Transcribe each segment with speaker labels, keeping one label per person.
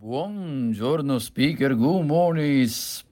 Speaker 1: Buongiorno speaker, good morning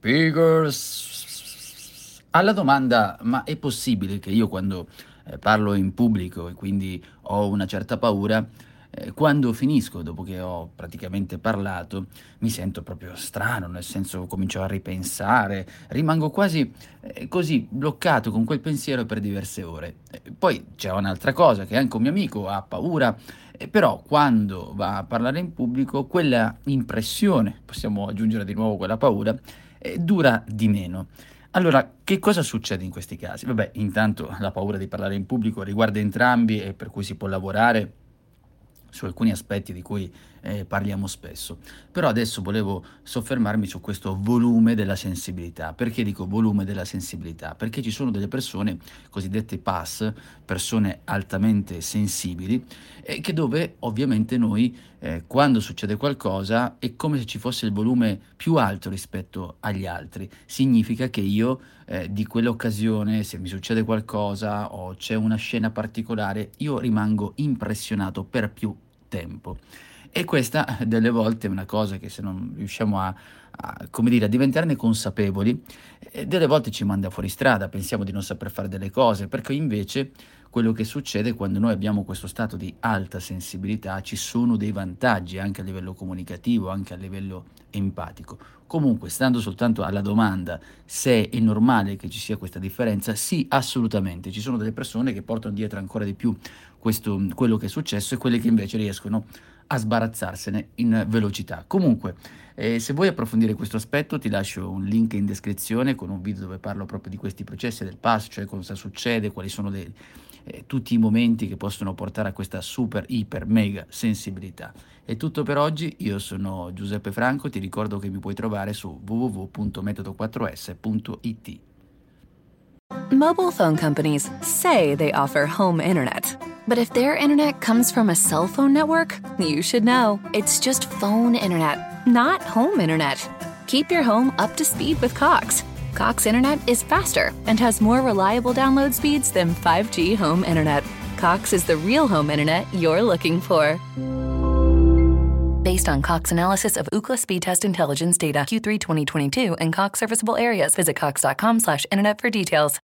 Speaker 1: speakers. Alla domanda, ma è possibile che io quando parlo in pubblico e quindi ho una certa paura, quando finisco, dopo che ho praticamente parlato, mi sento proprio strano, nel senso comincio a ripensare, rimango quasi così bloccato con quel pensiero per diverse ore. Poi c'è un'altra cosa, che anche un mio amico ha paura però quando va a parlare in pubblico quella impressione, possiamo aggiungere di nuovo quella paura, dura di meno. Allora, che cosa succede in questi casi? Vabbè, intanto la paura di parlare in pubblico riguarda entrambi e per cui si può lavorare su alcuni aspetti di cui parliamo spesso. Però adesso volevo soffermarmi su questo volume della sensibilità. Perché dico volume della sensibilità? Perché ci sono delle persone, cosiddette PAS, persone altamente sensibili, che dove ovviamente noi, quando succede qualcosa, è come se ci fosse il volume più alto rispetto agli altri. Significa che io di quell'occasione, se mi succede qualcosa o c'è una scena particolare, io rimango impressionato per più tempo. E questa delle volte è una cosa che se non riusciamo come dire, a diventarne consapevoli, delle volte ci manda fuori strada, pensiamo di non saper fare delle cose, perché invece quello che succede quando noi abbiamo questo stato di alta sensibilità, ci sono dei vantaggi anche a livello comunicativo, anche a livello empatico. Comunque, stando soltanto alla domanda se è normale che ci sia questa differenza, sì, assolutamente. Ci sono delle persone che portano dietro ancora di più quello che è successo e quelle che invece riescono a sbarazzarsene in velocità. Comunque, se vuoi approfondire questo aspetto, ti lascio un link in descrizione con un video dove parlo proprio di questi processi del pass, cioè cosa succede, quali sono tutti i momenti che possono portare a questa super, iper, mega sensibilità. È tutto per oggi, io sono Giuseppe Franco, ti ricordo che mi puoi trovare su www.metodo4s.it.
Speaker 2: Mobile phone companies say they offer home internet. But if their internet comes from a cell phone network, you should know. It's just phone internet, not home internet. Keep your home up to speed with Cox. Cox internet is faster and has more reliable download speeds than 5G home internet. Cox is the real home internet you're looking for. Based on Cox analysis of Ookla speed test intelligence data Q3 2022 and Cox serviceable areas, visit cox.com/internet for details.